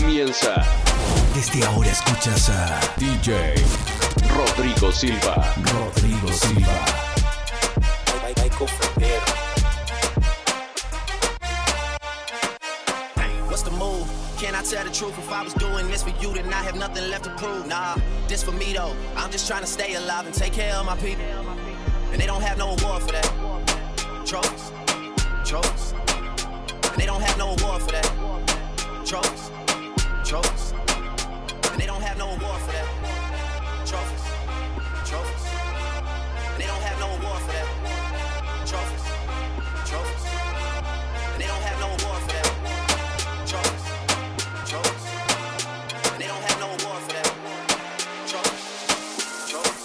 comienza. Desde ahora escuchas a DJ Rodrigo Silva. Rodrigo Silva. What's the move? Can I tell the truth? If I was doing this for you, then I have nothing left to prove. Nah, this for me though. I'm just trying to stay alive and take care of my people. And they don't have no award for that. Trophies, trophies. And they don't have no award for that. Trophies, trophies. And they don't have no award for that. Trophies, trophies. And they don't have no award for that. Trophies, trophies. And they don't have no award for that. Trophies, trophies. And they don't have no award for that. Trophies, trophies.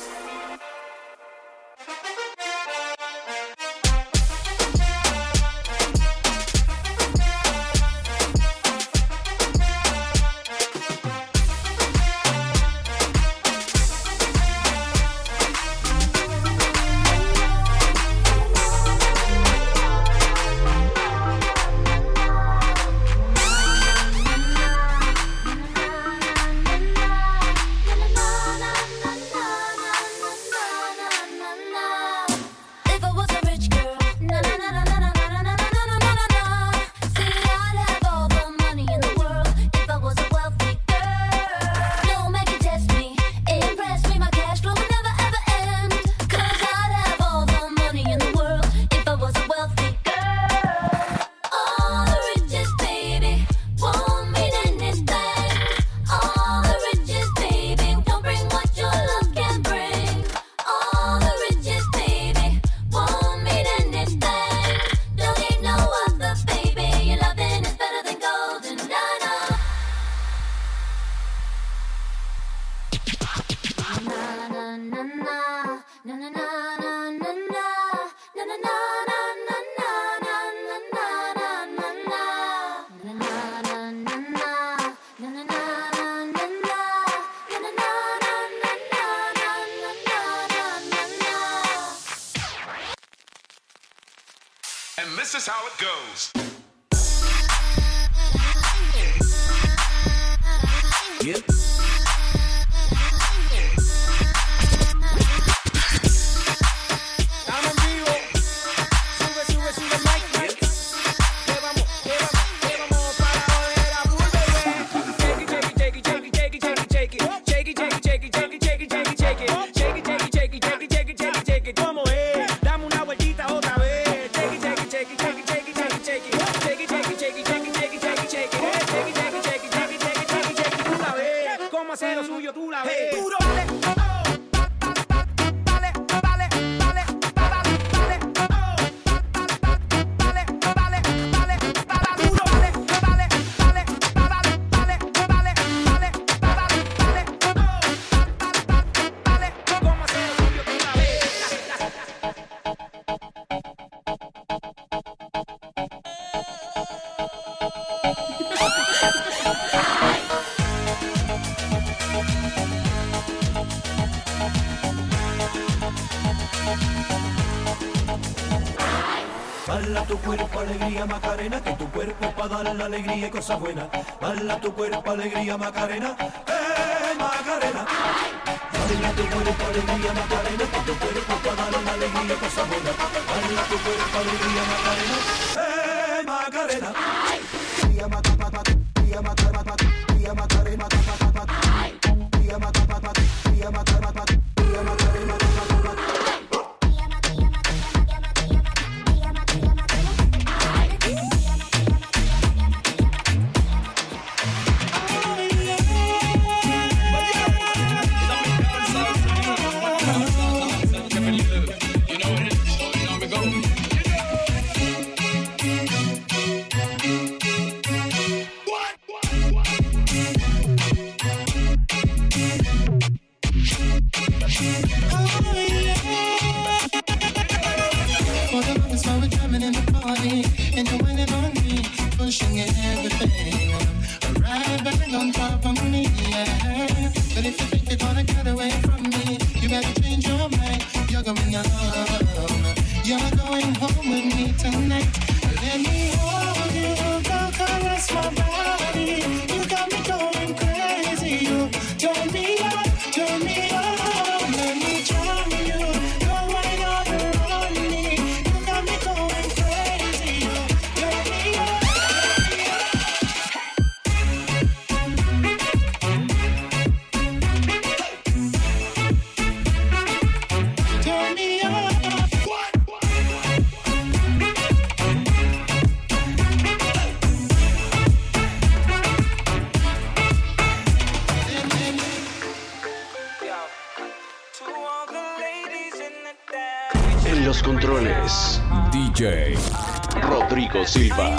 And this is how it goes. Yep. Bala tu cuerpo, alegría, Macarena, que tu cuerpo es para dar la alegría y cosas buenas. Bala tu cuerpo, alegría, Macarena, Macarena. Bala tu cuerpo, alegría, Macarena, que tu cuerpo es para dar la alegría y cosas buenas. Bala tu cuerpo, alegría, Macarena, Macarena. Macarena, Macarena, Macarena. es DJ Rodrigo Silva.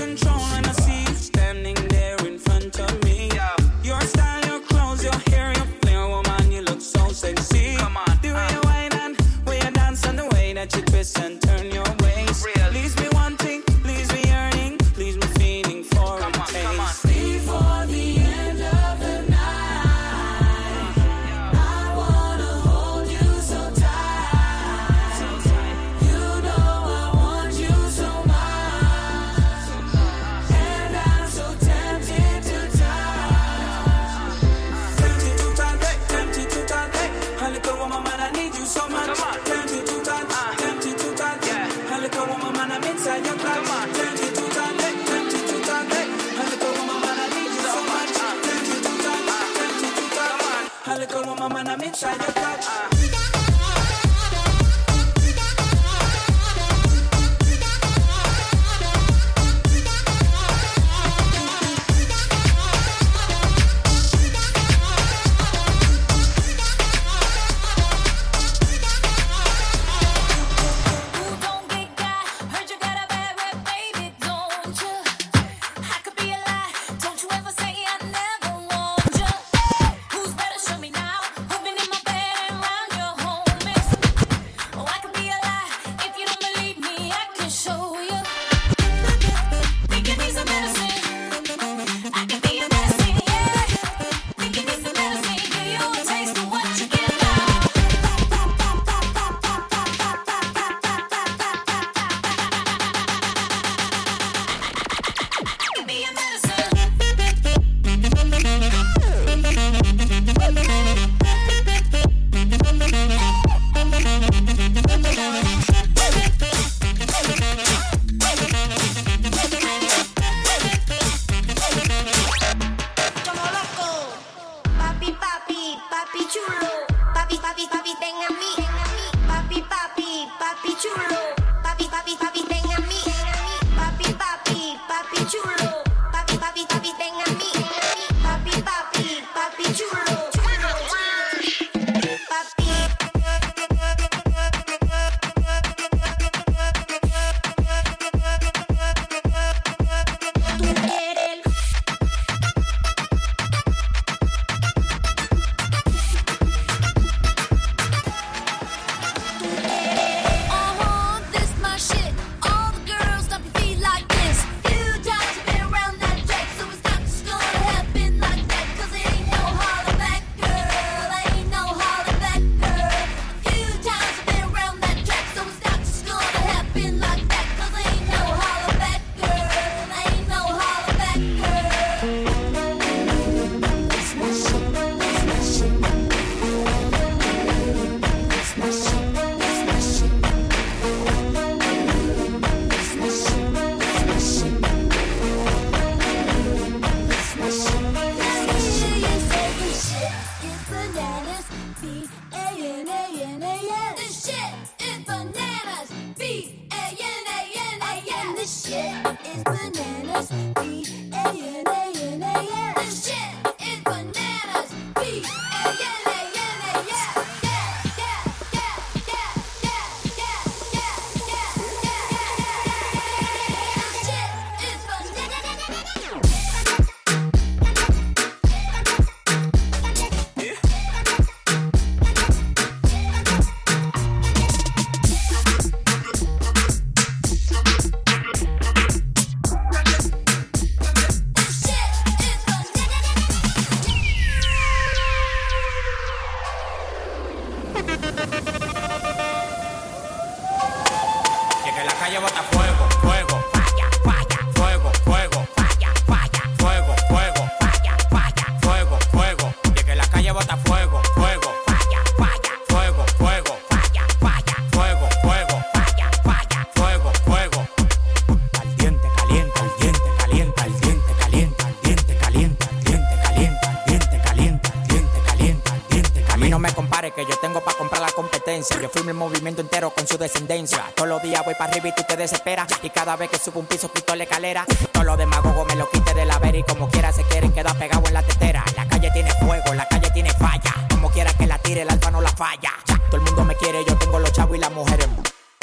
Yo fui mi movimiento entero con su descendencia. Todos los días voy para arriba y tú te desesperas. Y cada vez que subo un piso quito la escalera. Todos los demagogos me lo quite de la vera. Y como quiera se quieren quedar pegados en la tetera. La calle tiene fuego, la calle tiene falla. Como quiera que la tire, el alfa no la falla. Todo el mundo me quiere, yo tengo los chavos y las mujeres.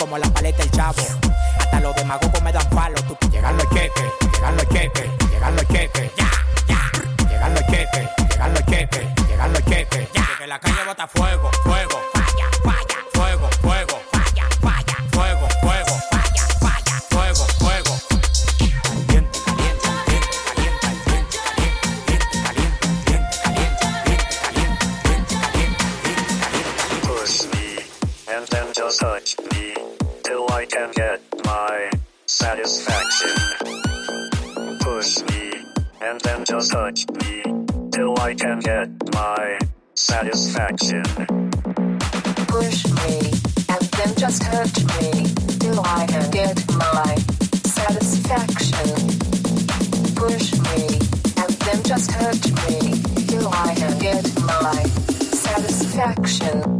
como la paleta del chavo. Hasta los demagogos me dan palo. Tú llegan los cheques, llegan los cheques, llegan los cheques, ya, ya. Llegan los cheques, llegan los cheques, llegan los cheques, ya. Que la calle bota fuego, fuego, falla, falla, fuego, fuego, falla, falla, fuego, fuego, falla, falla, fuego, fuego. Caliente, caliente, caliente, caliente, caliente, caliente, caliente, caliente, caliente. Push me, and then just touch me, till I can get my satisfaction. Push me, and then just touch me, till I can get my satisfaction. Push me, and then just hurt me, till I can get my satisfaction. Push me, and then just hurt me, till I can get my satisfaction.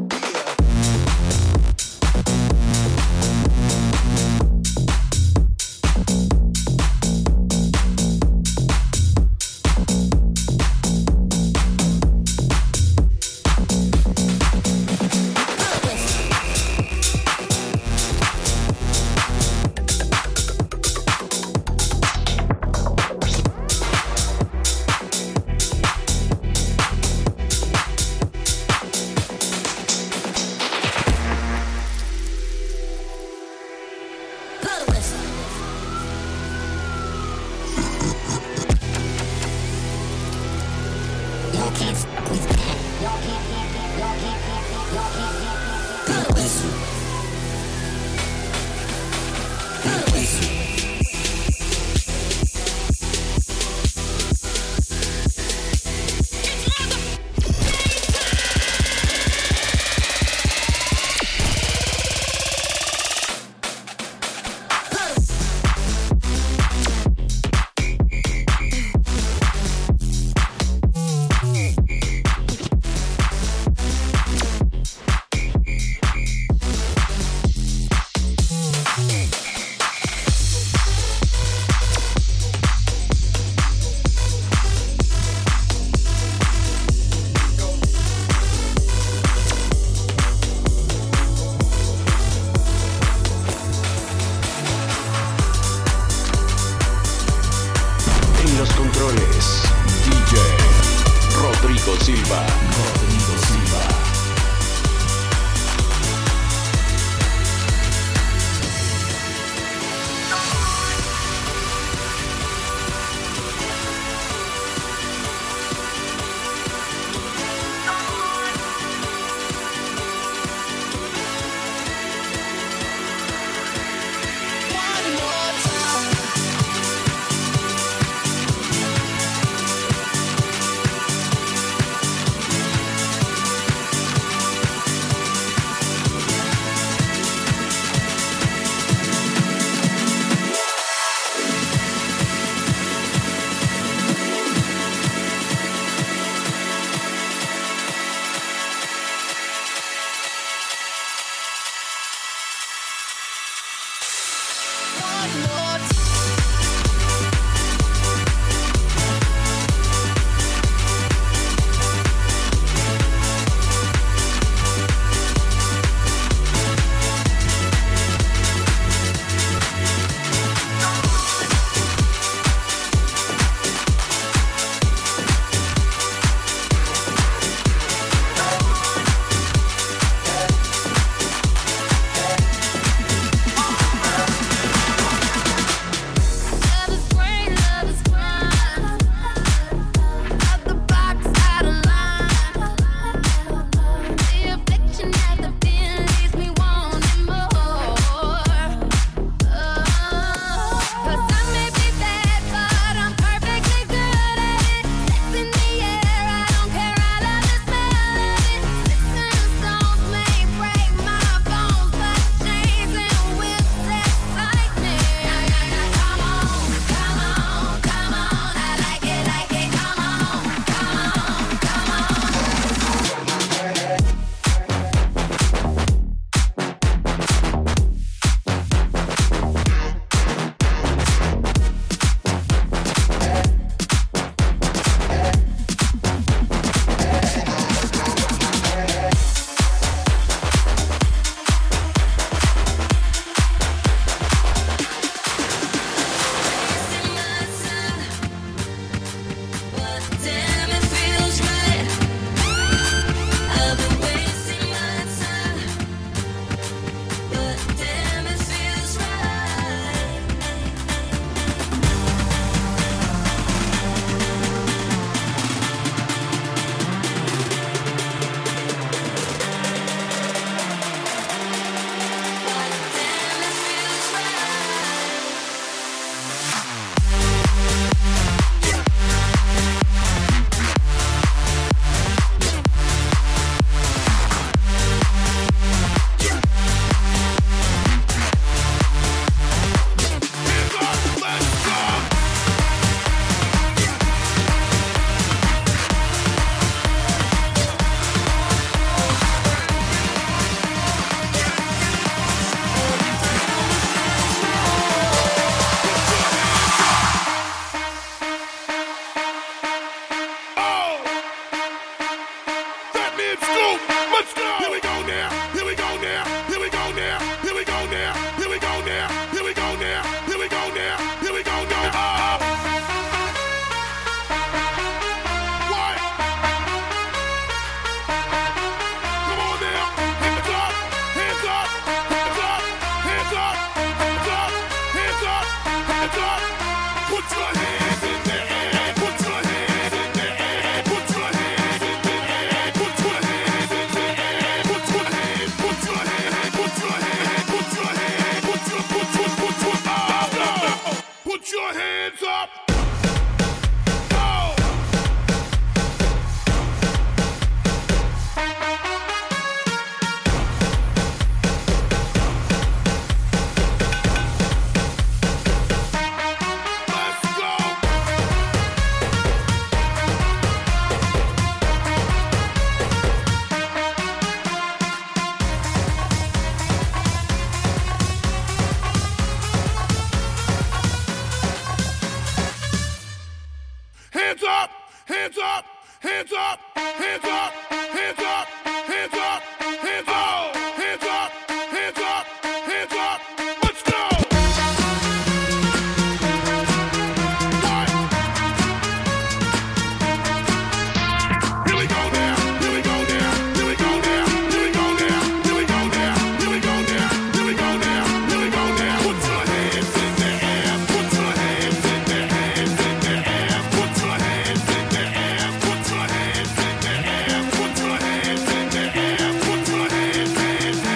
Rodrigo Silva. Put your hands up. Hands up, hands up, hands up, hands up, hands up, hands up, hands up, hands up, hands up, hands up. Let's go. Here we go now, here we go now, here we go now, here we go now, here we go now, here we go now, here we go now, here we go now. Put your hands in the air, put your hands in the hands in the air, put your hands in the air, put your hands in the air, put your hands in the air, put your hands in.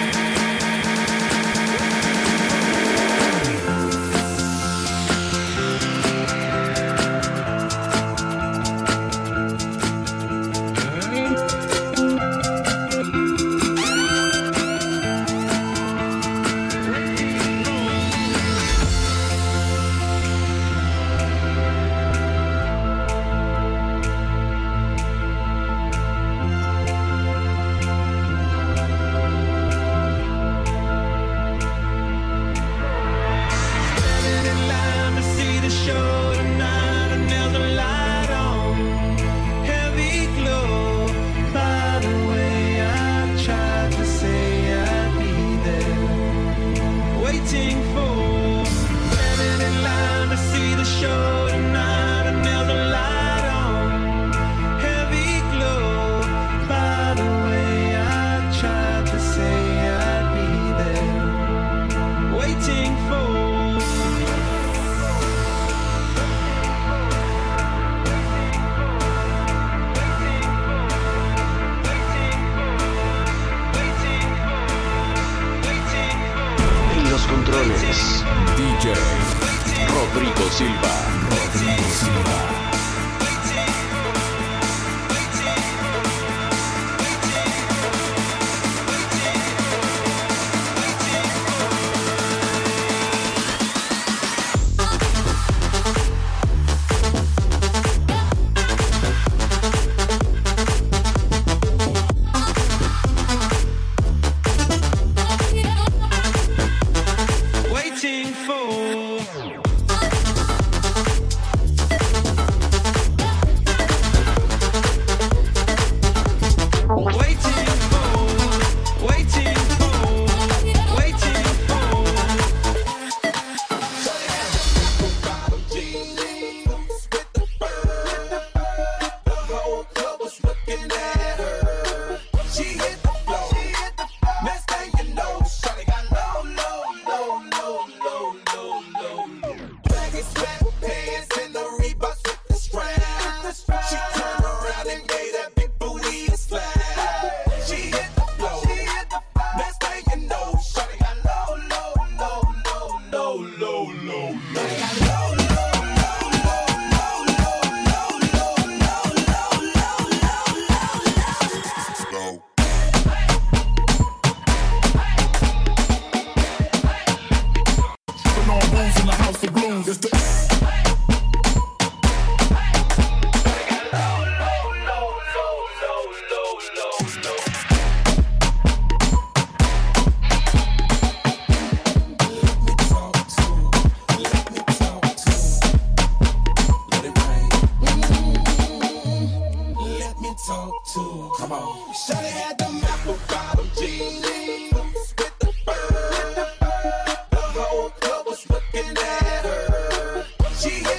En los controles, DJ Rodrigo Silva. Rodrigo Silva. She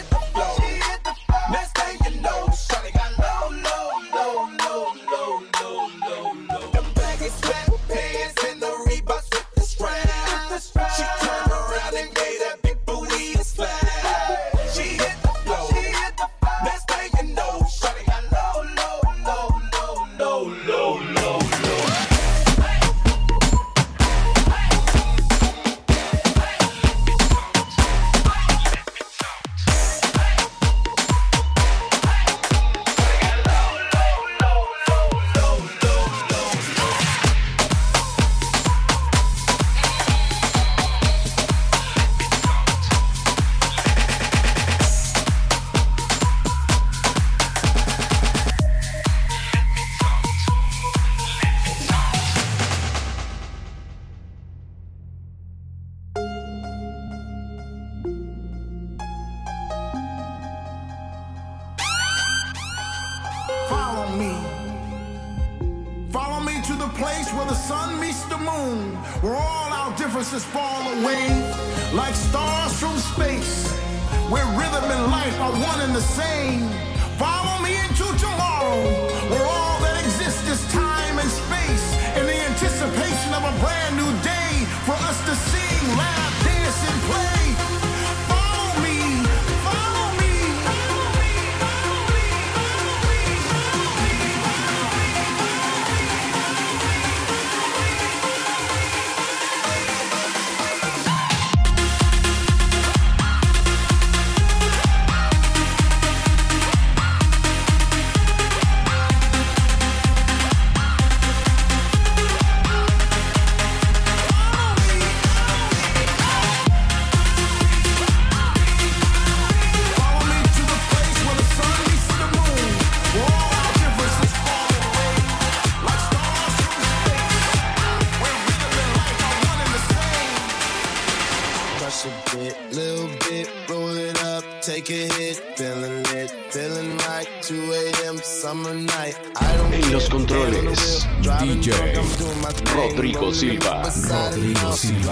follow me. Follow me to the place where the sun meets the moon, where all our differences fall away like stars from space, where rhythm and life are one and the same. Follow me into tomorrow, where all that exists is time and space, in the anticipation of a brand new day for us to sing, laugh, dance, and play. Follow me, follow me. En los controles, DJ Rodrigo Silva. Rodrigo Silva.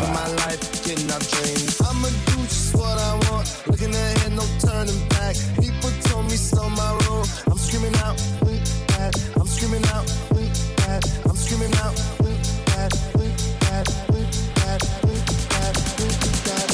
I'ma do just what I want. Looking ahead, no turning back. People told me slow my roll. I'm screaming out, that. I'm screaming out, that. I'm screaming out, that. That. That. That. That.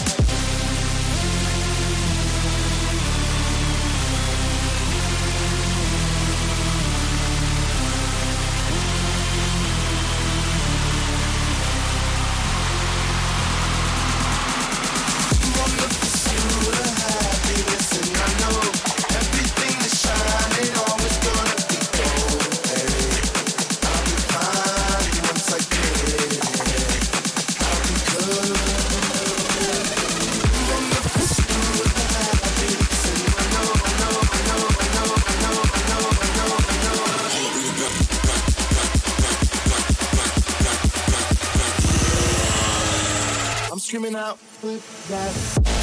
Screaming out with that.